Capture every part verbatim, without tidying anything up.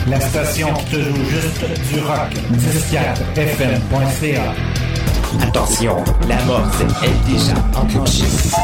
La station qui te joue juste du rock. dix quatre F M point C A. Attention, la morse est déjà enclenchée.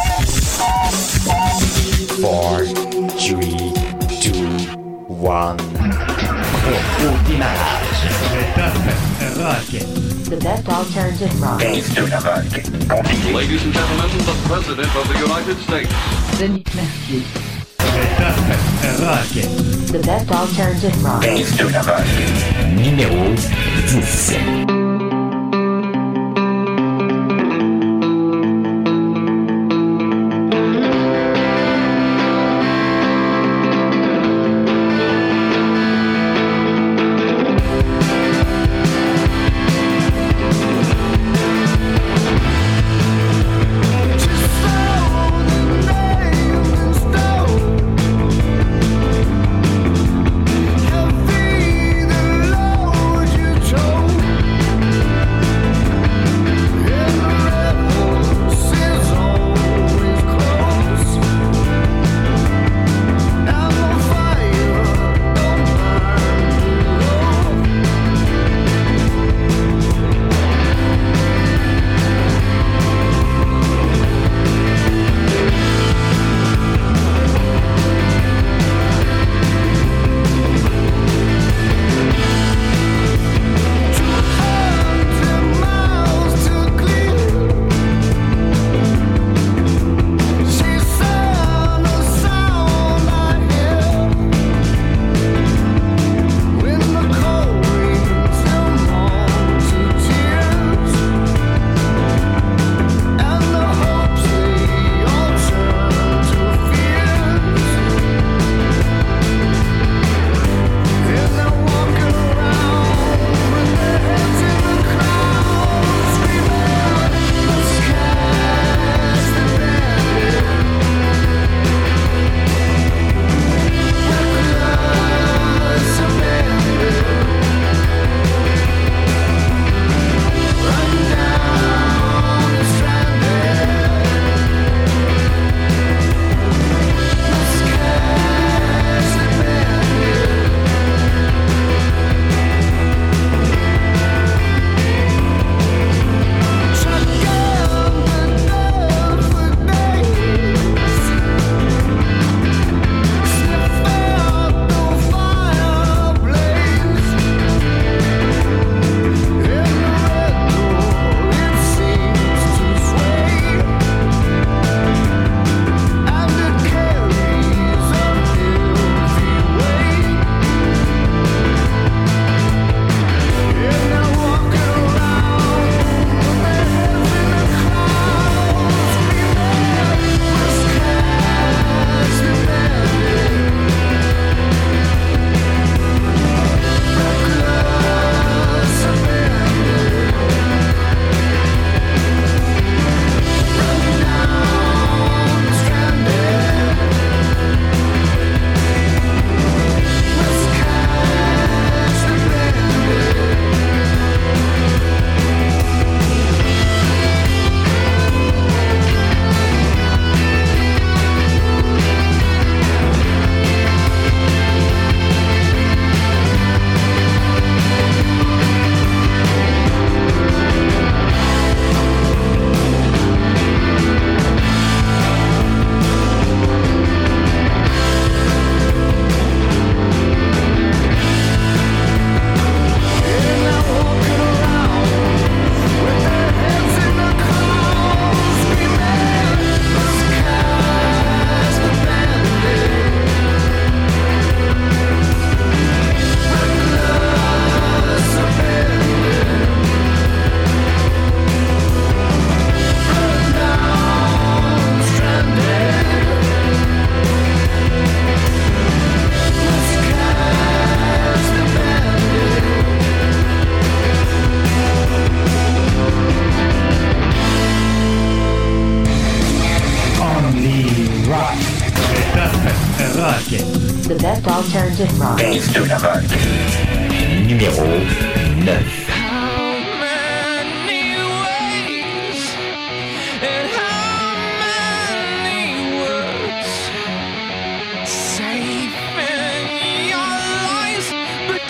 four, three, two, one. Au démarrage. Le top rock. The best alternative rock. Baisse de la rock. Continue. Ladies and gentlemen, the President of the United States. Denis Mercier. Le top rock. The best alternative rock. Baisse de la rock. Numéro dix. The best alternative rock. Baisse de la rock. Numéro neuf. Saving your lives, but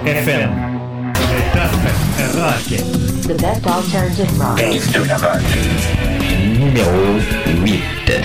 F M. Le top rock. The best alternative rock. Numéro huit.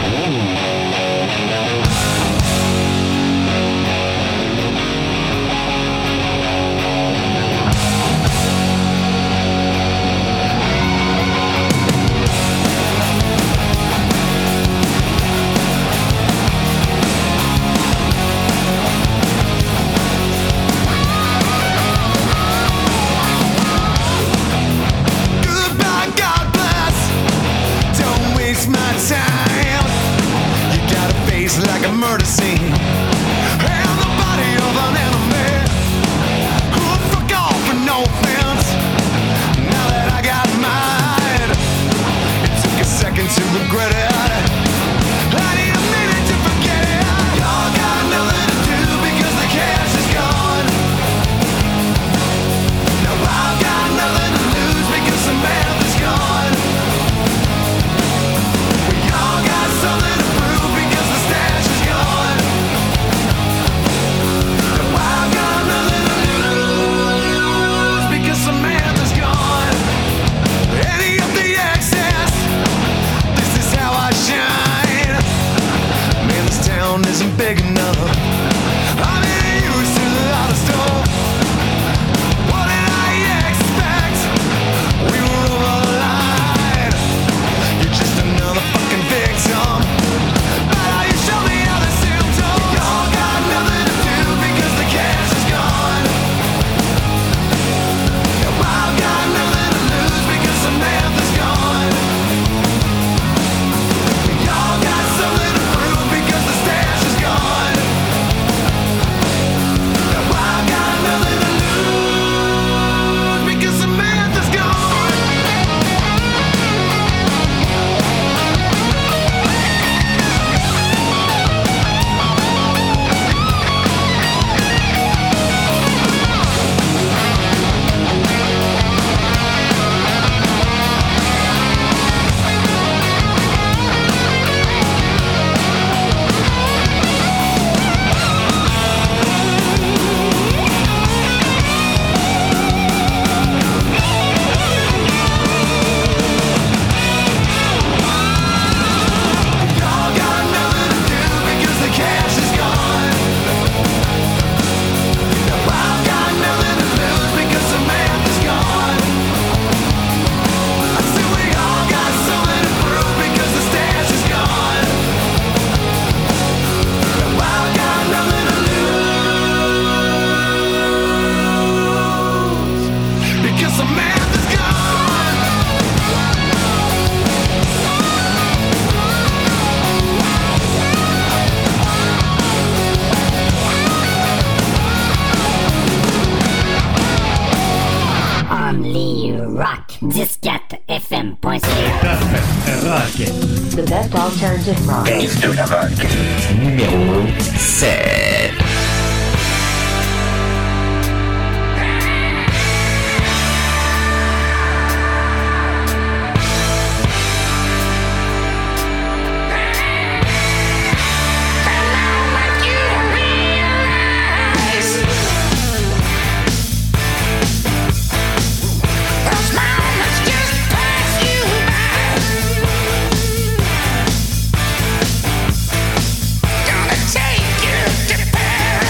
Like a murder scene, and the body of an enemy who fuck off with no offense. Now that I got mine, it took a second to regret it. I need a minute to forget it. Y'all got nothing to do because the cash is gone. Now I've got nothing to lose because the math is gone. We all got something to prove because the stash is gone. Now I've got nothing to lose because the math is gone. Any of the excess, this is how I shine. Man, this town isn't big enough. I'm getting used to the other stuff. What did I expect? We were over the line. You're just another fucking victim. But how you show me all the symptoms? Y'all got nothing to do because the cash is gone. Now I've got nothing to lose because the math is gone. Y'all got something to prove because the stash is gone. Now I've got nothing to lose because the math is gone. Y'all got nothing to do because the cash is gone. Now I've got nothing to lose because the math is gone. I said we all got something to prove because the stash is gone. Now I've got nothing to lose because the math is gone. Only rock. Disquette F M point C A. Top rock. The best alternative rock. Numéro sept. Gonna take you to Paris.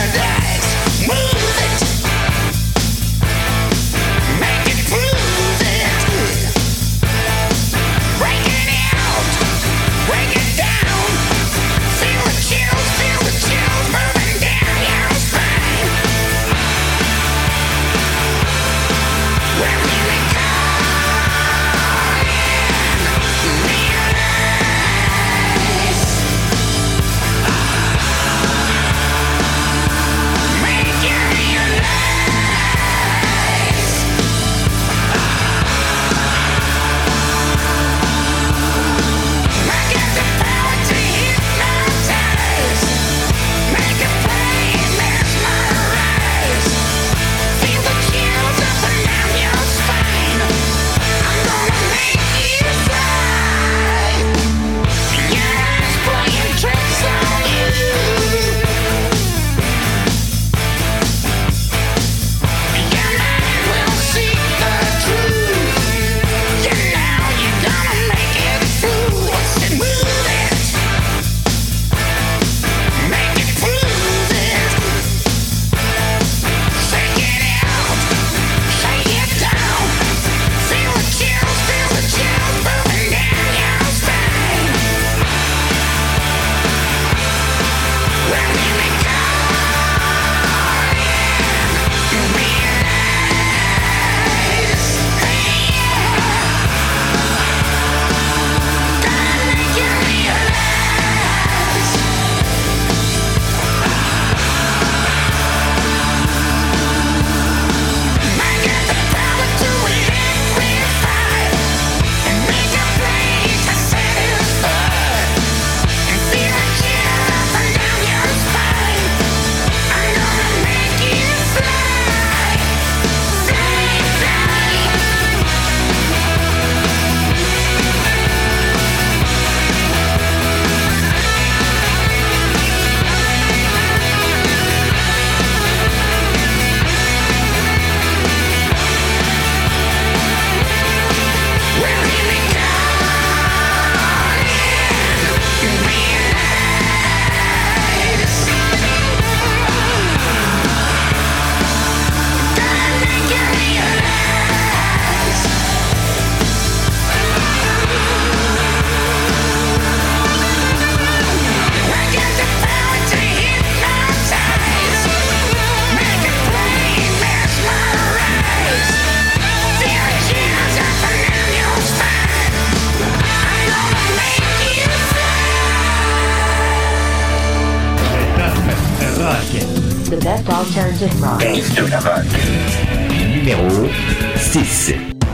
best alternative rock. Gangsta Rock. Numéro six.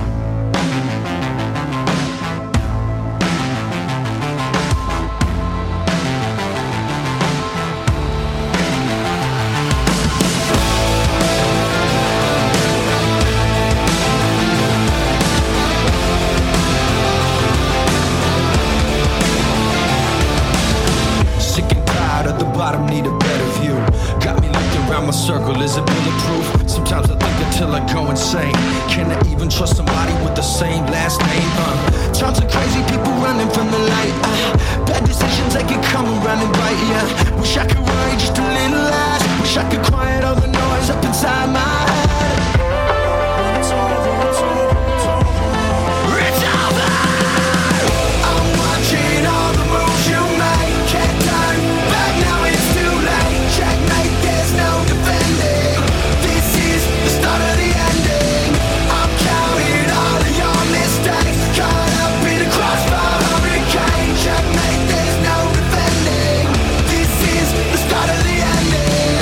Bottom need a better view. Got me looking around my circle, is it bulletproof? Sometimes I think until I go insane. Can I even trust somebody with the same last name? Uh, times are crazy, people running from the light. Uh, bad decisions, they can come around and bite ya. Wish I could worry just a little less. Wish I could quiet all the noise up inside my head. It's over, it's over, it's over. It's over! I'm watching all the moves you make. Can't turn back now, it's too late. Checkmate, there's no defending. This is the start of the ending. I'm counting all of your mistakes. Caught up in a crossfire hurricane. Checkmate, there's no defending. This is the start of the ending.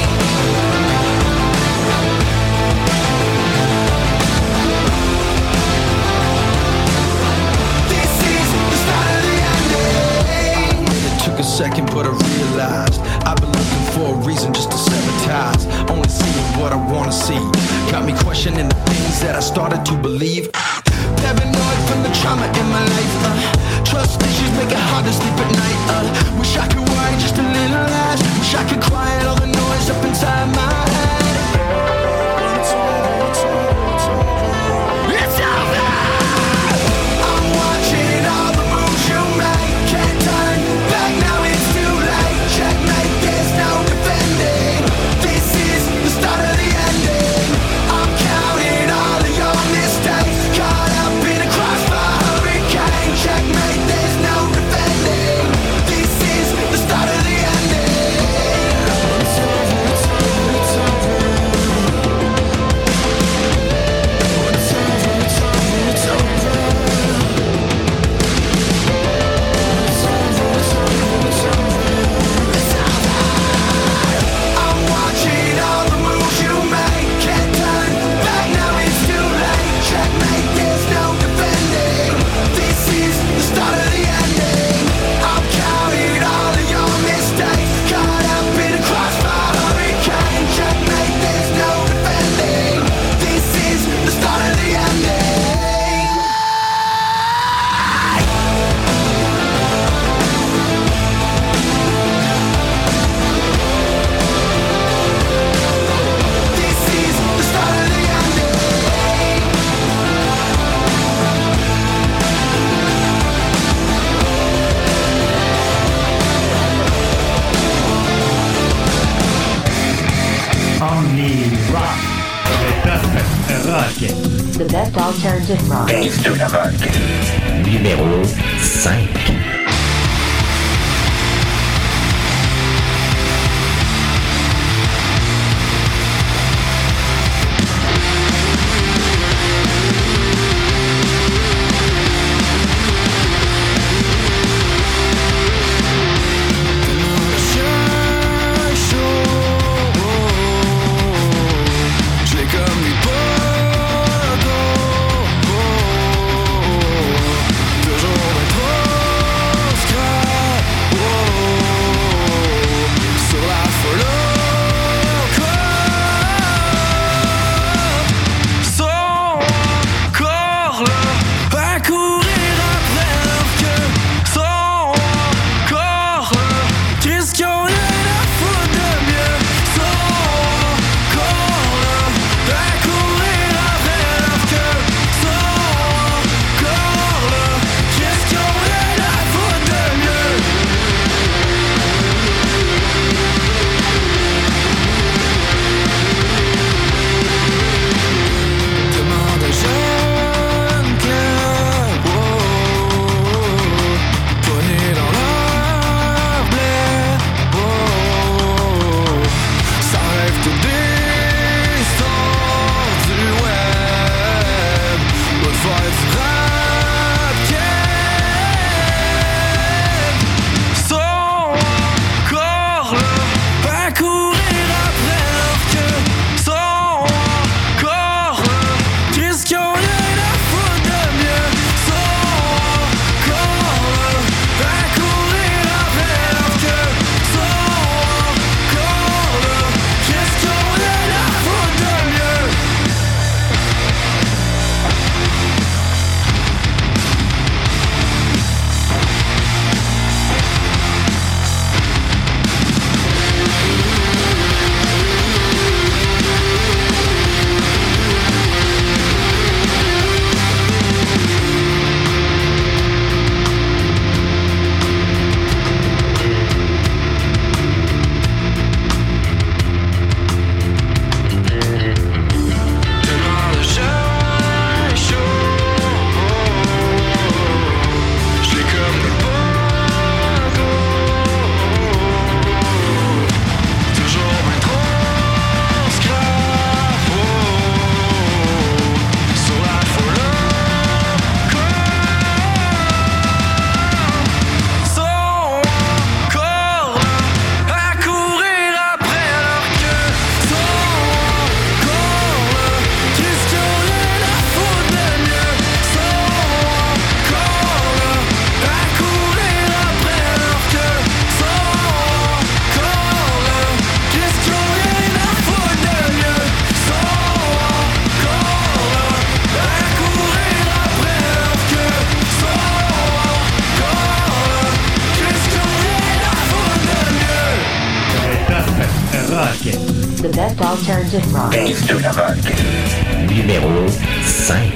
This is the start of the ending. It took a second, but I realized I've been looking for a reason just to sabotage. Only seeing what I wanna see. Got me questioning the things that I started to believe. Paranoid from the trauma in my life. Uh, trust issues make it hard to sleep at night. Uh, wish I could worry just a little less. Wish I could quiet all the noise up inside my head. It's over, it's over, it's over. It's over! I'm watching all the moves you make. Can't turn back now, it's too late. Checkmate, there's no defending. This is the start of the ending. I'm counting all of your mistakes. Caught up in a crossfire hurricane. Checkmate, there's no defending. This is the start of the ending. It's over, it's over, it's over. It's over, it's over, it's over. It's over, it's over, it's over. It's over. I'm watching all the moves you make. Can't turn back now, it's too late. Checkmate, there's no defending. This is the start of the ending. I'm counting all of your mistakes. Caught up in a crossfire hurricane. Checkmate, there's no defending. This is the start of the ending. This is the start of the ending. Only rock. Le top rock. The best alternative rock. Gangsta Rock. Numéro cinq. Llega mi puedo, toujours être alternative rock. Base de la rock. Numéro cinq.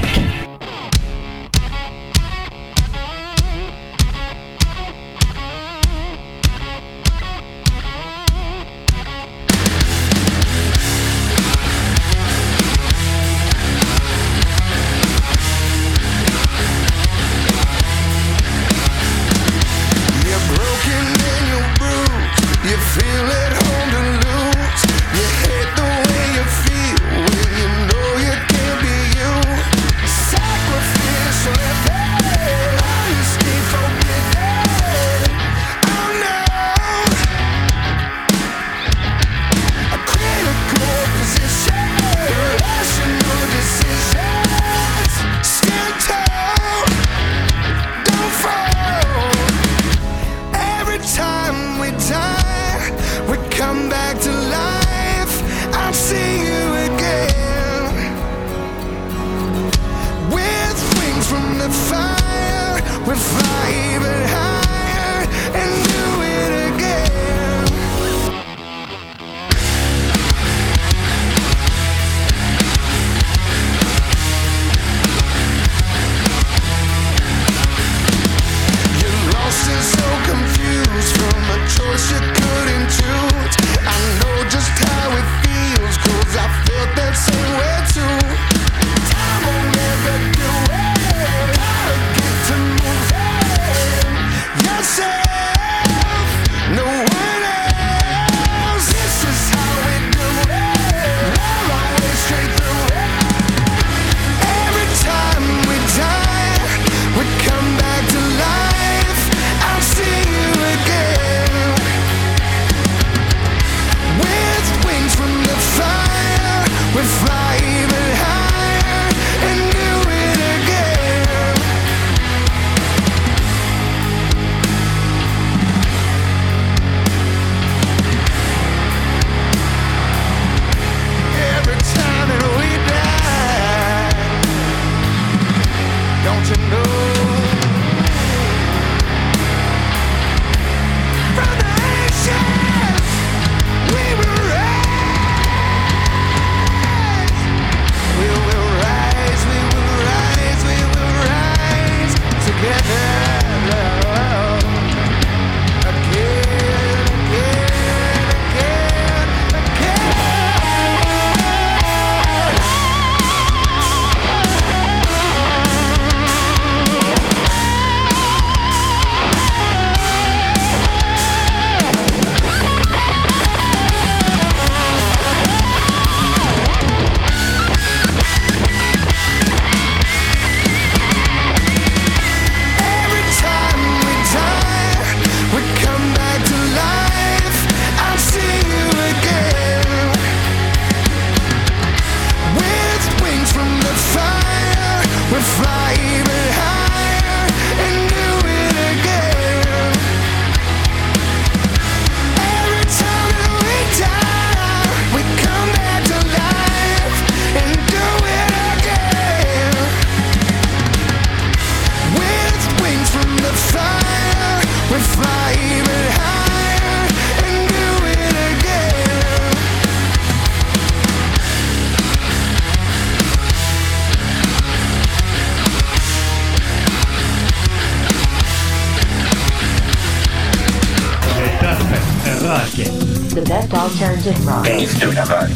The best alternative rock. Base de la rock.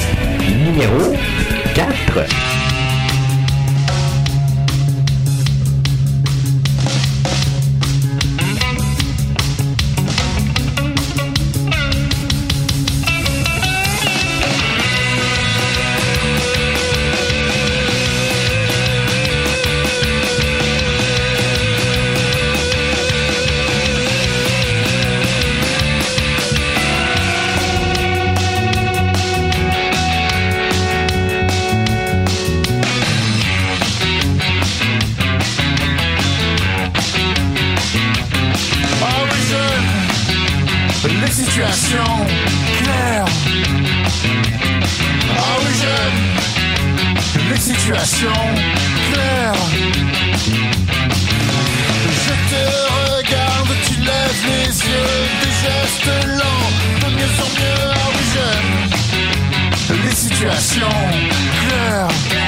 Numéro quatre. Situation claire. Ah oui, j'aime les situations claires. Je te regarde, tu lèves les yeux, des gestes lents, de mieux en mieux. Ah oui, j'aime situation claire.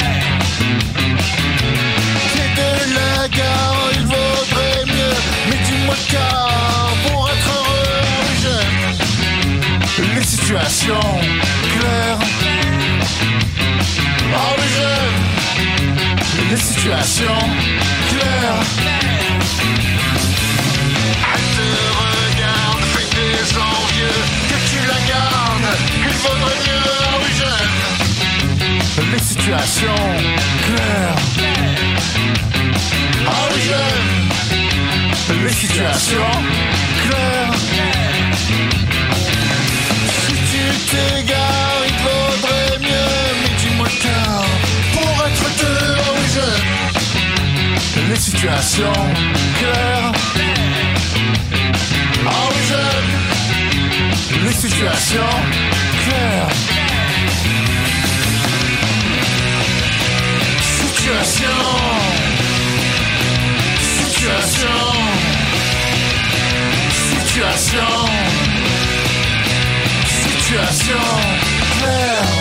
T'es de la gare, il vaudrait mieux. Mais dis-moi car pour être heureux, j'aime les situations claires. Oh mais j'aime les situations claires. Elle te regarde, fait des envieux, que tu la gardes, qu'il vaudrait mieux. Oh oui j'aime les situations claires. Oh oui j'aime les situations claires. Si tu t'égares, il vaudrait mieux. Mais dis-moi car pour être deux, oh oui j'aime les situations claires. Oh oui j'aime les situations claires. Situation, situation, situation, situation claire.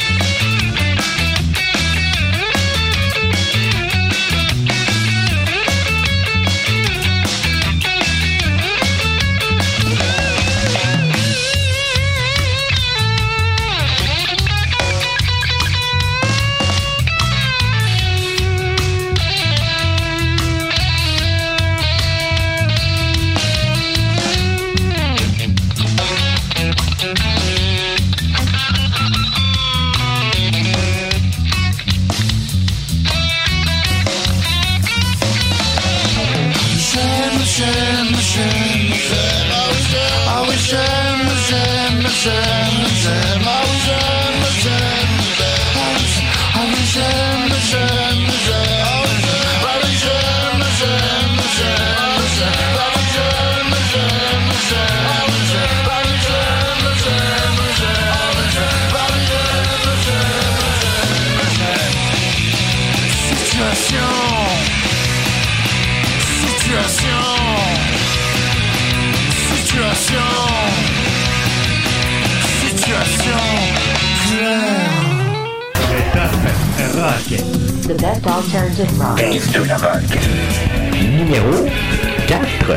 The best alternative rock. Dave de la rock. Numéro quatre.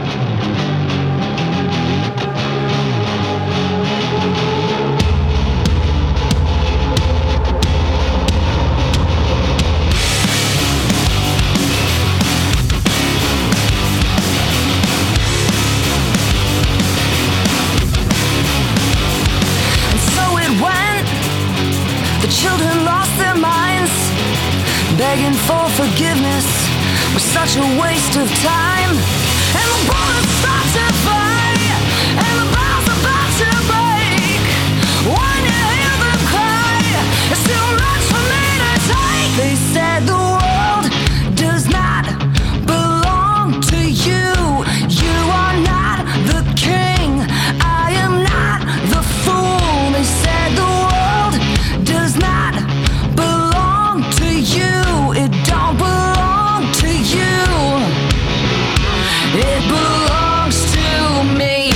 Begging for forgiveness was such a waste of time. And the bullets start to fly, and the bombs about to break. When you hear them cry, it's too much for me to take. They said the world does not belong to you. You are not the king, I am not the fool. They said the world does not belong to you. It don't belong to you. It belongs to me.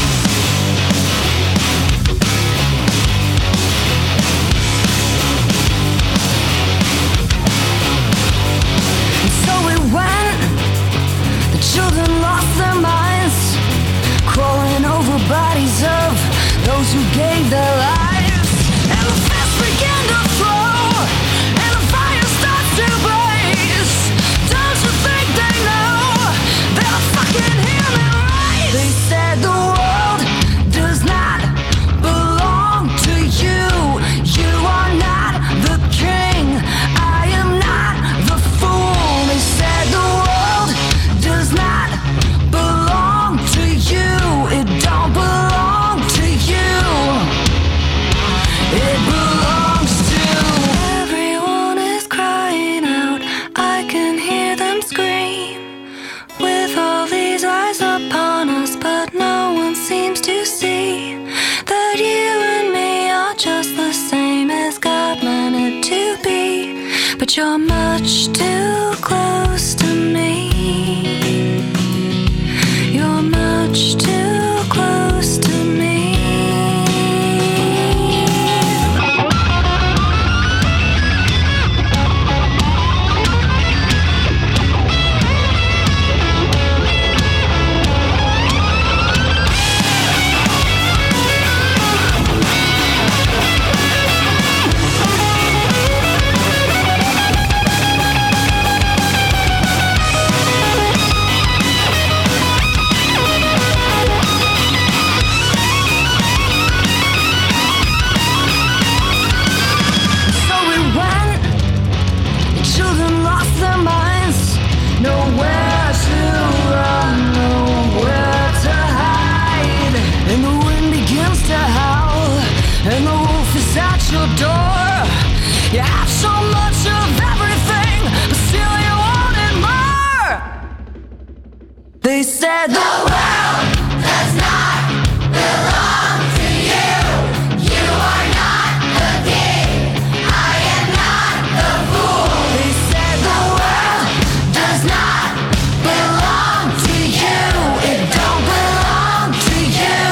And so it went. The children lost their minds, crawling over bodies of those who gave their lives. And the fists began to flow, and the fire starts to blaze. Don't you think they know they're fucking You have so much of everything, but still you wanted more. They said the world does not belong to you. You are not the king, I am not the fool. They said the world does not belong to you. It don't belong to you.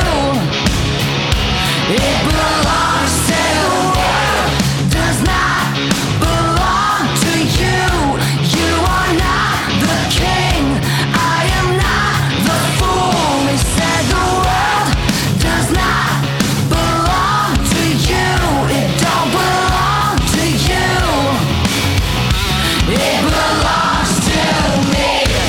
It belongs to the world. Does not belong to you. You are not the king, I am not the fool. They said the world does not belong to you. It don't belong to you. It belongs to me.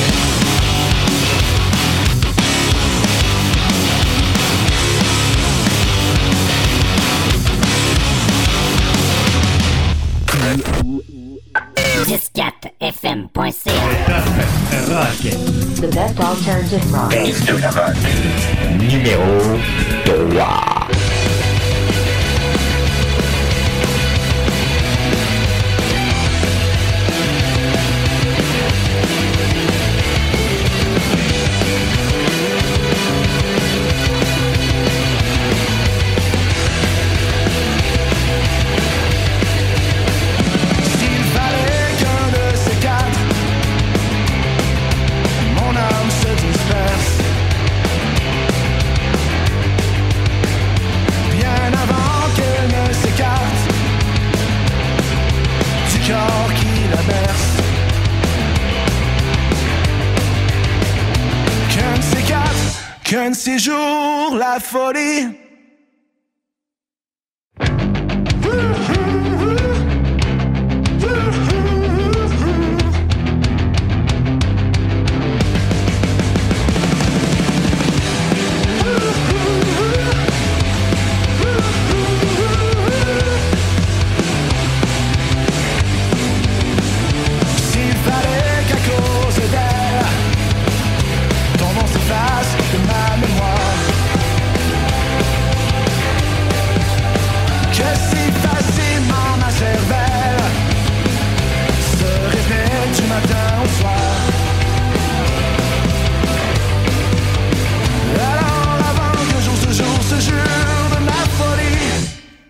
dix-quatre F M point C A. Le top rock. The best alternative rock. Base de la rock. Numéro trois. S'il fallait qu'un de ces quatre, mon âme se disperse, bien avant qu'elle ne s'écarte du corps qui la berce. Qu'un de ces quatre, qu'un de ces jours, la folie. S'il fallait qu'à cause d'elle, ton nom s'efface de ma mémoire, que si facilement ma cervelle se répète du matin au soir. Alors avant que jour ce jour se jure de ma folie,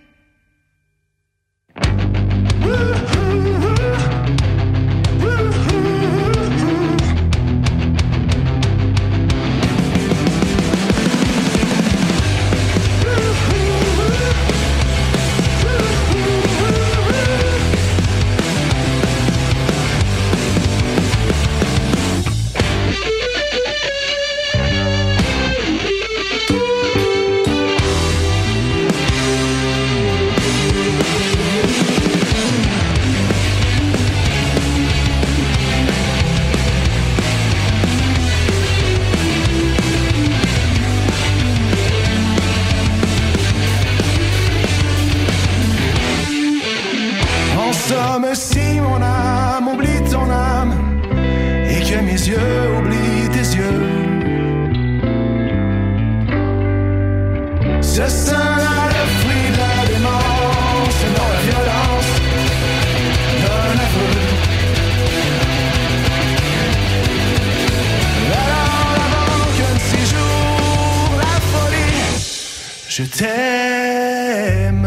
en somme, si mon âme oublie ton âme et que mes yeux oublient tes yeux, ce sera le fruit de la démence, non la violence d'un aveu. Alors avant qu'un de ces jours, la folie, je t'aime.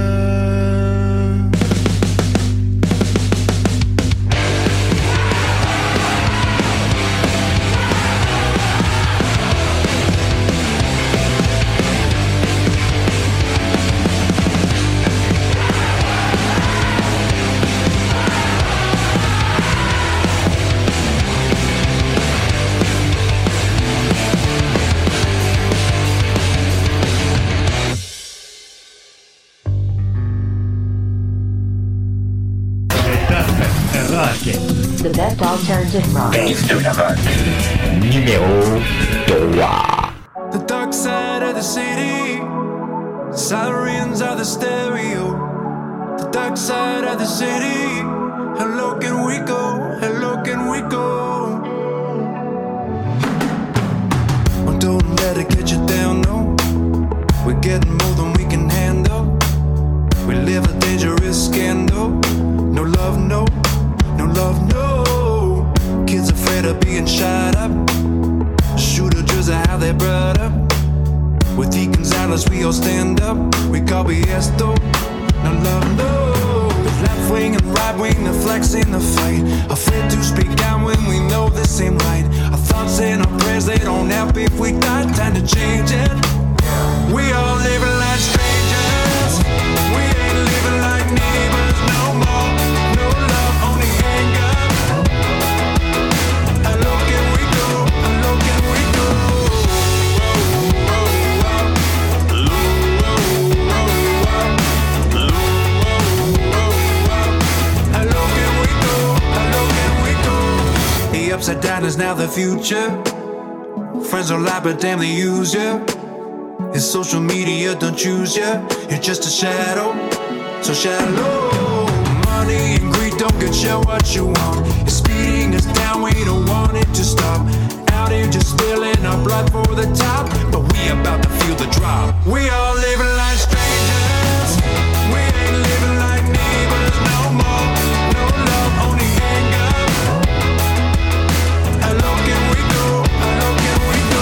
The best alternative rock. Base de la rock. Numéro trois. The dark side of the city, sirens are the stereo. The dark side of the city, hello can we go, hello can we go. Oh, don't let it get you down, no. We're getting more than we can handle. We live of a dangerous scandal. No love, no, no love, no. Kids afraid of being shot up. Shooter just how they brought up. With E. Gonzalez we all stand up. We call B S though. No love, no. The left wing and right wing, the flex in the fight. Afraid to speak out when we know this ain't right. Our thoughts and our prayers, they don't help if we die. Time to change it. We all living like strangers. We ain't living like neighbors no more. No love, only anger. How low can we go? How low can we go? How low can we go? How low can we go? The upside down is now the future. Friends don't lie, but damn they use you. It's social media, don't choose ya. You're just a shadow, so shallow. Money and greed don't get you what you want. It's speeding us down, we don't want it to stop. Out here just spilling our blood for the top. But we about to feel the drop. We all living like strangers. We ain't living like neighbors no more. No love, only anger. How low can we go? How low can we go?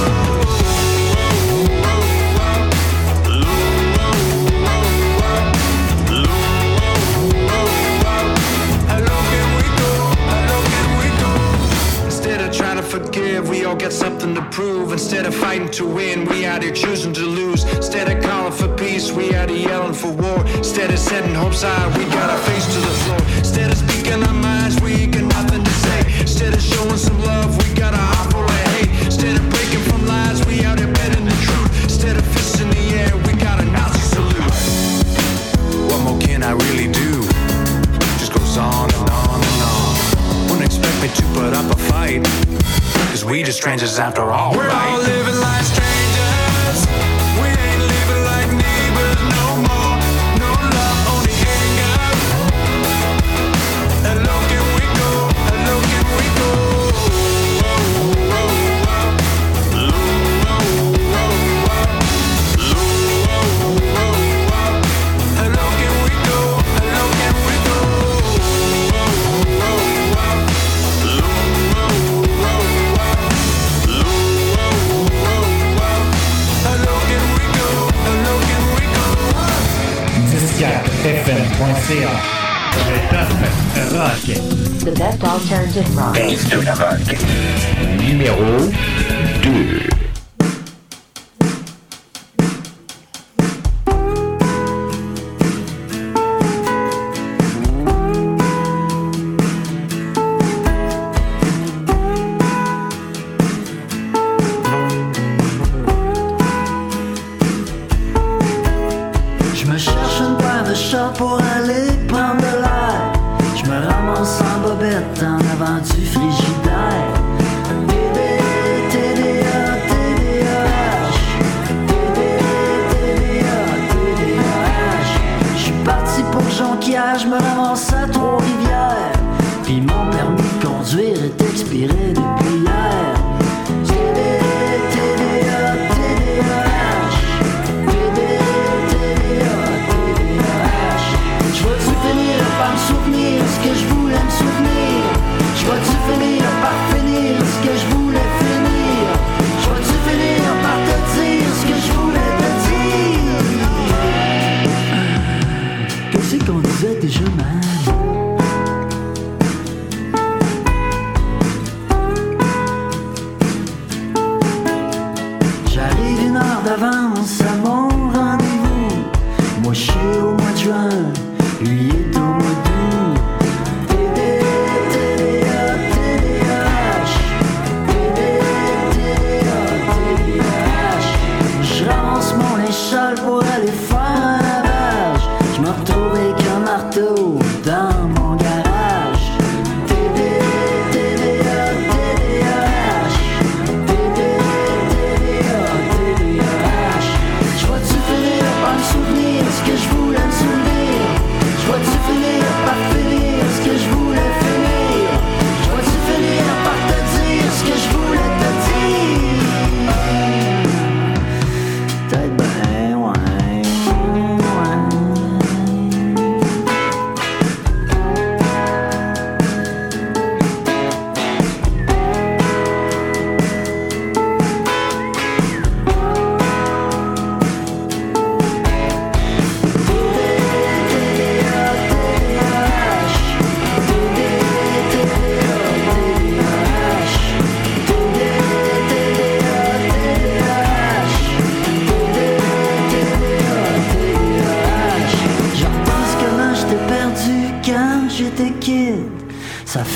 Trying to forgive, we all got something to prove. Instead of fighting to win, we out here choosing to lose. Instead of calling for peace, we out here yelling for war. Instead of setting hopes high, we got our face to the floor. Instead of speaking our minds, we ain't got nothing to say. Instead of showing some love, we got a heart full of hate. Instead of breaking from lies, we out here betting the truth. Instead of fists in the air, we got a Nazi salute. What more can I really do? Just goes on and on and on. Wouldn't expect me to put up a fight, cause we just strangers after all. We're right? All living like strangers. We ain't living like neighbors no more. No love, only anger. How low can we go? How low can we go? F M point C A. Le top rock. The best alternative rock. Base de la rock. Numéro deux. Pour aller prendre de l'air, je me ramasse en bobette en avant du frigidaire. Bébé, T D A, T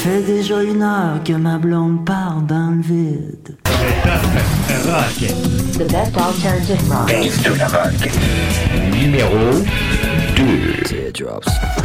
fait déjà une heure que ma blonde part dans le vide. Le top rock. The best alternative rock. Base to the rock. Numéro deux. Teardrops.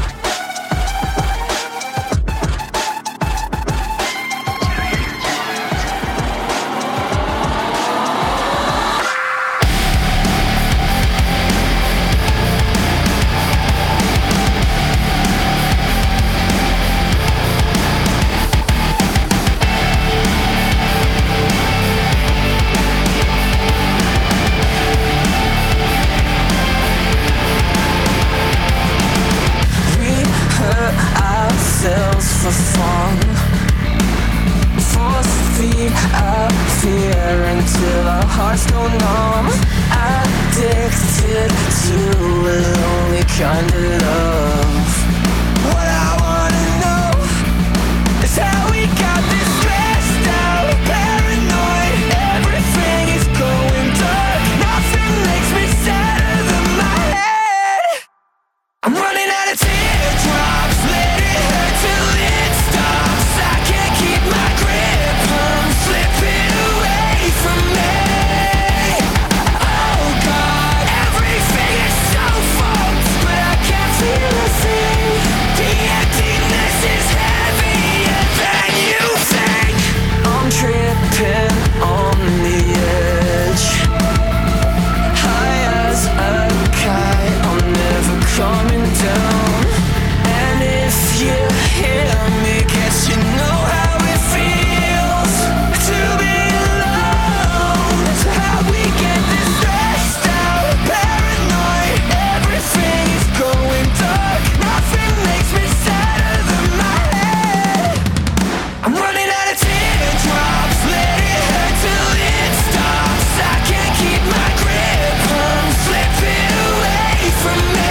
For fun, force feed our fear until our hearts go numb. Addicted to a lonely kind of love. What I wanna know is how we got this stressed out, paranoid. Everything is going dark. Nothing makes me sadder than my head. I'm running out of teardrops. Let it hurt till it stops. I can't keep my grip. I'm slipping away from me. Oh God, everything is so fucked, but I can't feel a thing. The emptiness is heavier than you think. I'm tripping on the edge, high as a kite. I'm never coming down. And if you hear me, guess you know how it feels to be alone. So how we get this stressed out, paranoid. Everything is going dark. Nothing makes me sadder than my head. I'm running out of teardrops. Let it hurt till it stops. I can't keep my grip. I'm slipping away from me.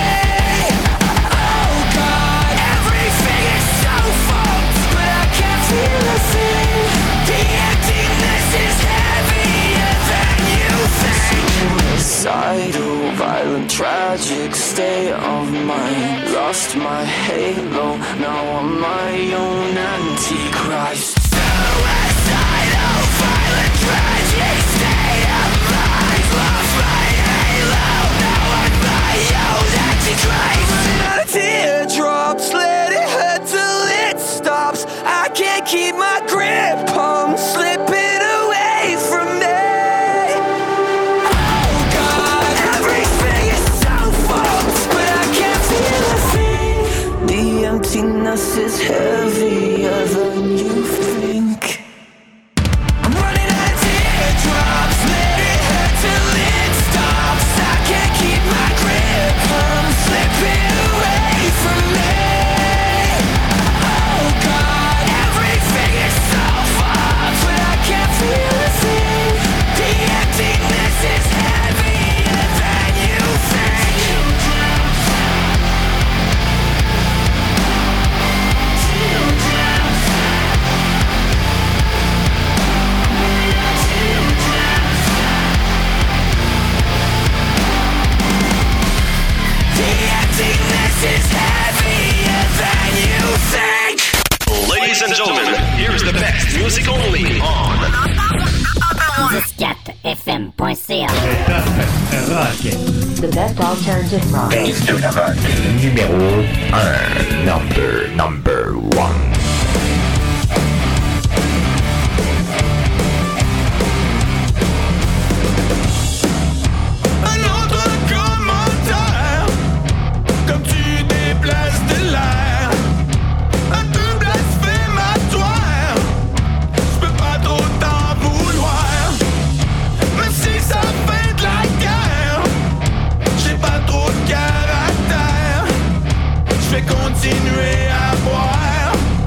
Oh God, everything is so fucked, but I can't feel a thing. The emptiness is heavier than you think. Suicidal, violent, tragic state of mind. Lost my halo, now I'm my own antichrist. Suicidal, violent, tragic state of mind. Lost my halo, now I'm my own antichrist. Running out of teardrops, let it hurt till it stops. I can't keep my grip, I'm slipping away from me. Oh God, everything is so fucked, but I can't feel a thing. The emptiness is heavier than you think. I'm running out of teardrops, let it hurt till it stops. I can't keep my grip, I'm slipping away from me. Oh God, everything is so fucked, but I can't feel a thing. The emptiness is heavier than you think. The emptiness is heavier than you think. Ladies and gentlemen, here is the best music only on dix-quatre F M point C A. Le top rock. The best alternative rock. Base to the rock. Numéro un. Number, number one. Un autre commentaire, comme tu déplaces de l'air, un peu blasphématoire. Je peux pas trop t'en vouloir, même si ça fait de la guerre. J'ai pas trop de caractère, je vais continuer à boire.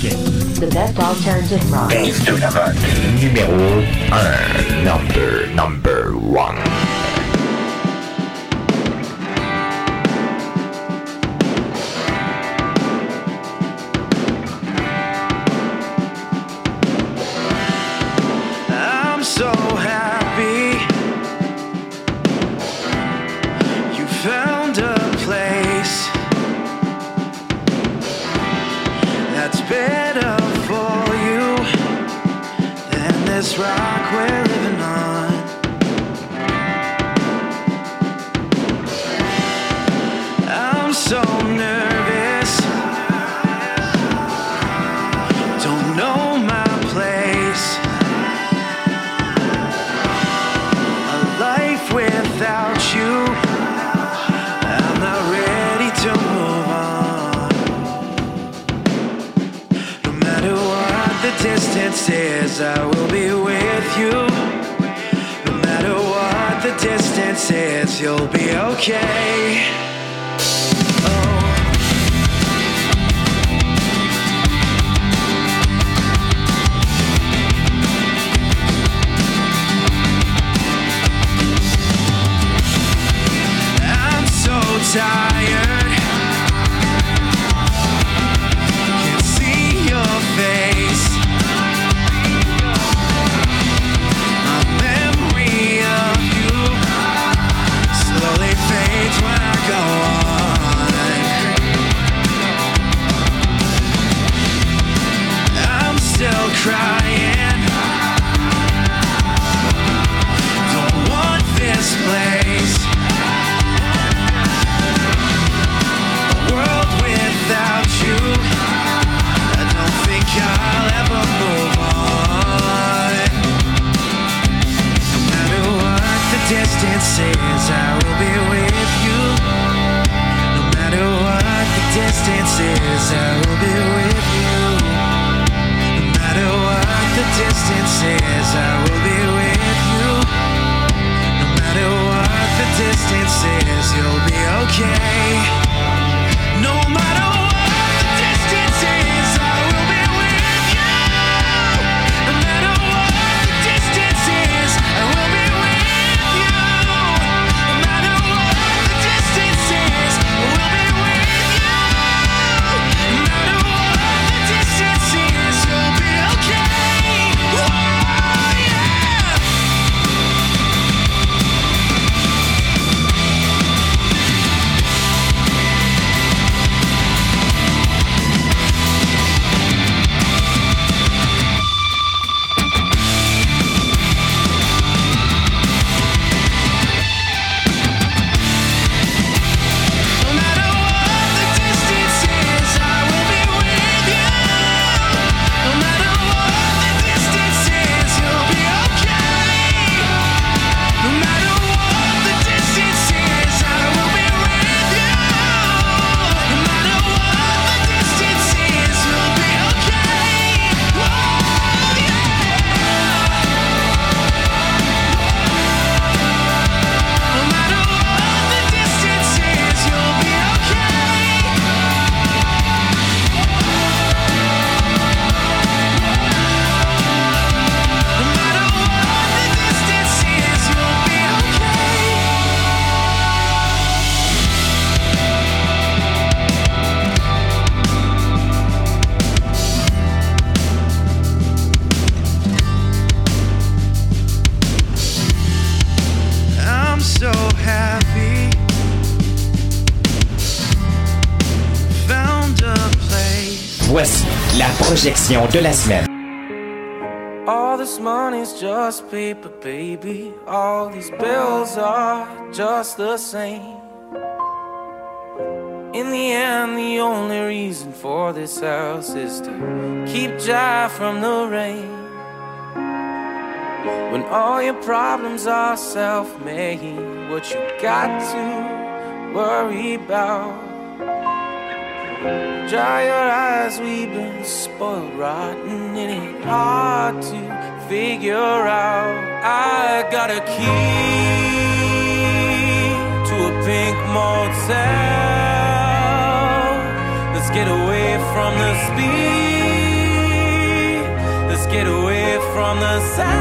The best alternative rock. Dance to the rock. Numéro un. Number, number one. So happy you found a place that's better for you than this rock we're living on. I'm so nervous, don't know my place. Without you, I'm not ready to move on. No matter what the distance is, I will be with you. No matter what the distance is, you'll be okay. Tired, can't see your face. My memory of you slowly fades when I go on. I'm still crying, don't want this place. Without you, I don't think I'll ever move on. No matter what the distance is, I will be with you. No matter what the distance is, I will be with you. No matter what the distance is, I will be with you. No matter what the distance is, you'll be okay. No matter what the distance is, I will be with you. No matter what the distance is, I will be with you. No matter what the distance is, I will be with you. No matter what the distance is, you'll be okay. Oh, yeah. Voici la projection de la semaine. All this money's just paper, baby. All these bills are just the same. In the end, the only reason for this house is to keep Jive from the rain. When all your problems are self-made, what you got to worry about? Dry your eyes, we've been spoiled rotten. It ain't hard to figure out. I got a key to a pink motel. Let's get away from the speed. get away from the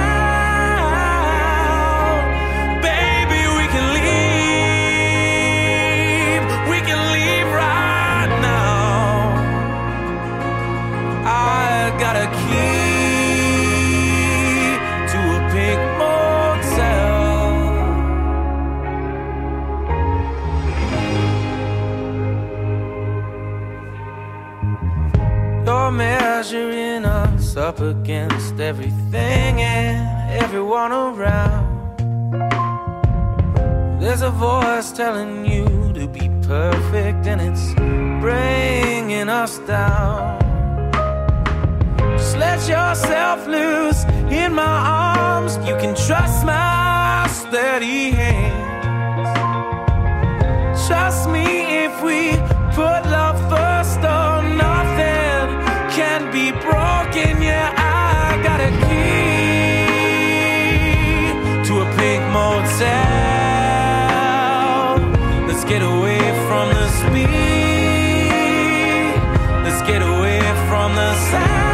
sound. Baby, we can leave. We can leave right now. I got a key to a pink motel. You're measuring us up against everything and everyone around. There's a voice telling you to be perfect and it's bringing us down. Just let yourself loose in my arms. You can trust my steady hands. Trust me if we put love first, oh, nothing can be broken. Yeah, I got a key to a pink motel. Let's get away from the speed. Let's get away from the sound.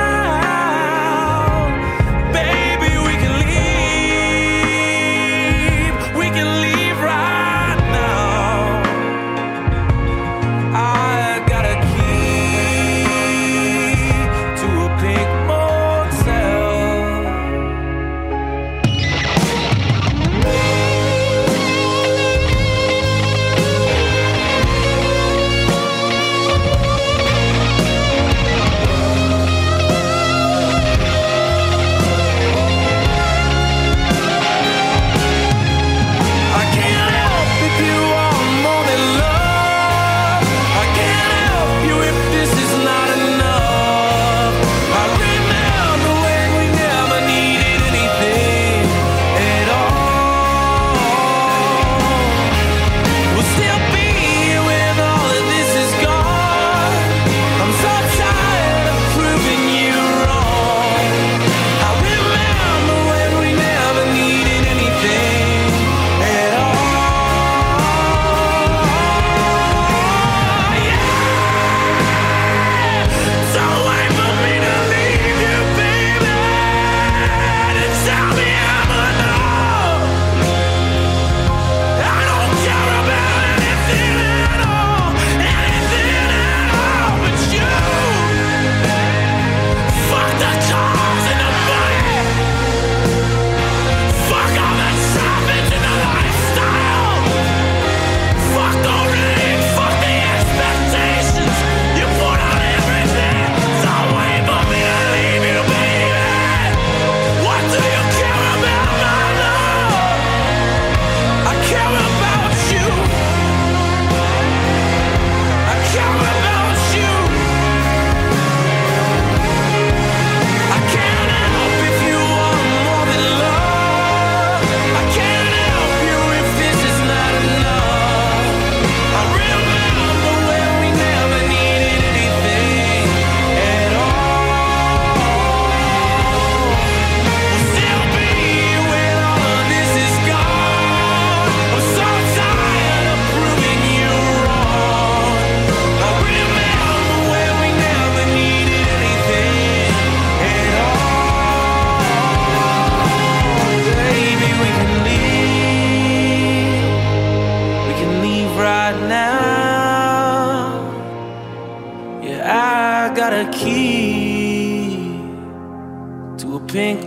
Pink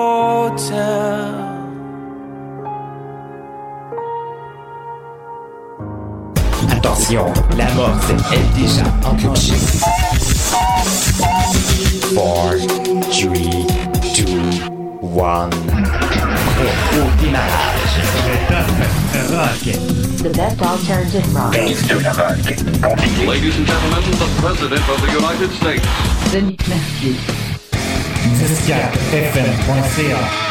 Motel. Attention, la mort est déjà enclenchée. four, three, two, one. Au démarrage. Rock. The best alternative rock. Ladies and gentlemen, the President of the United States. Denis Mercier. dix-quatre F M point C A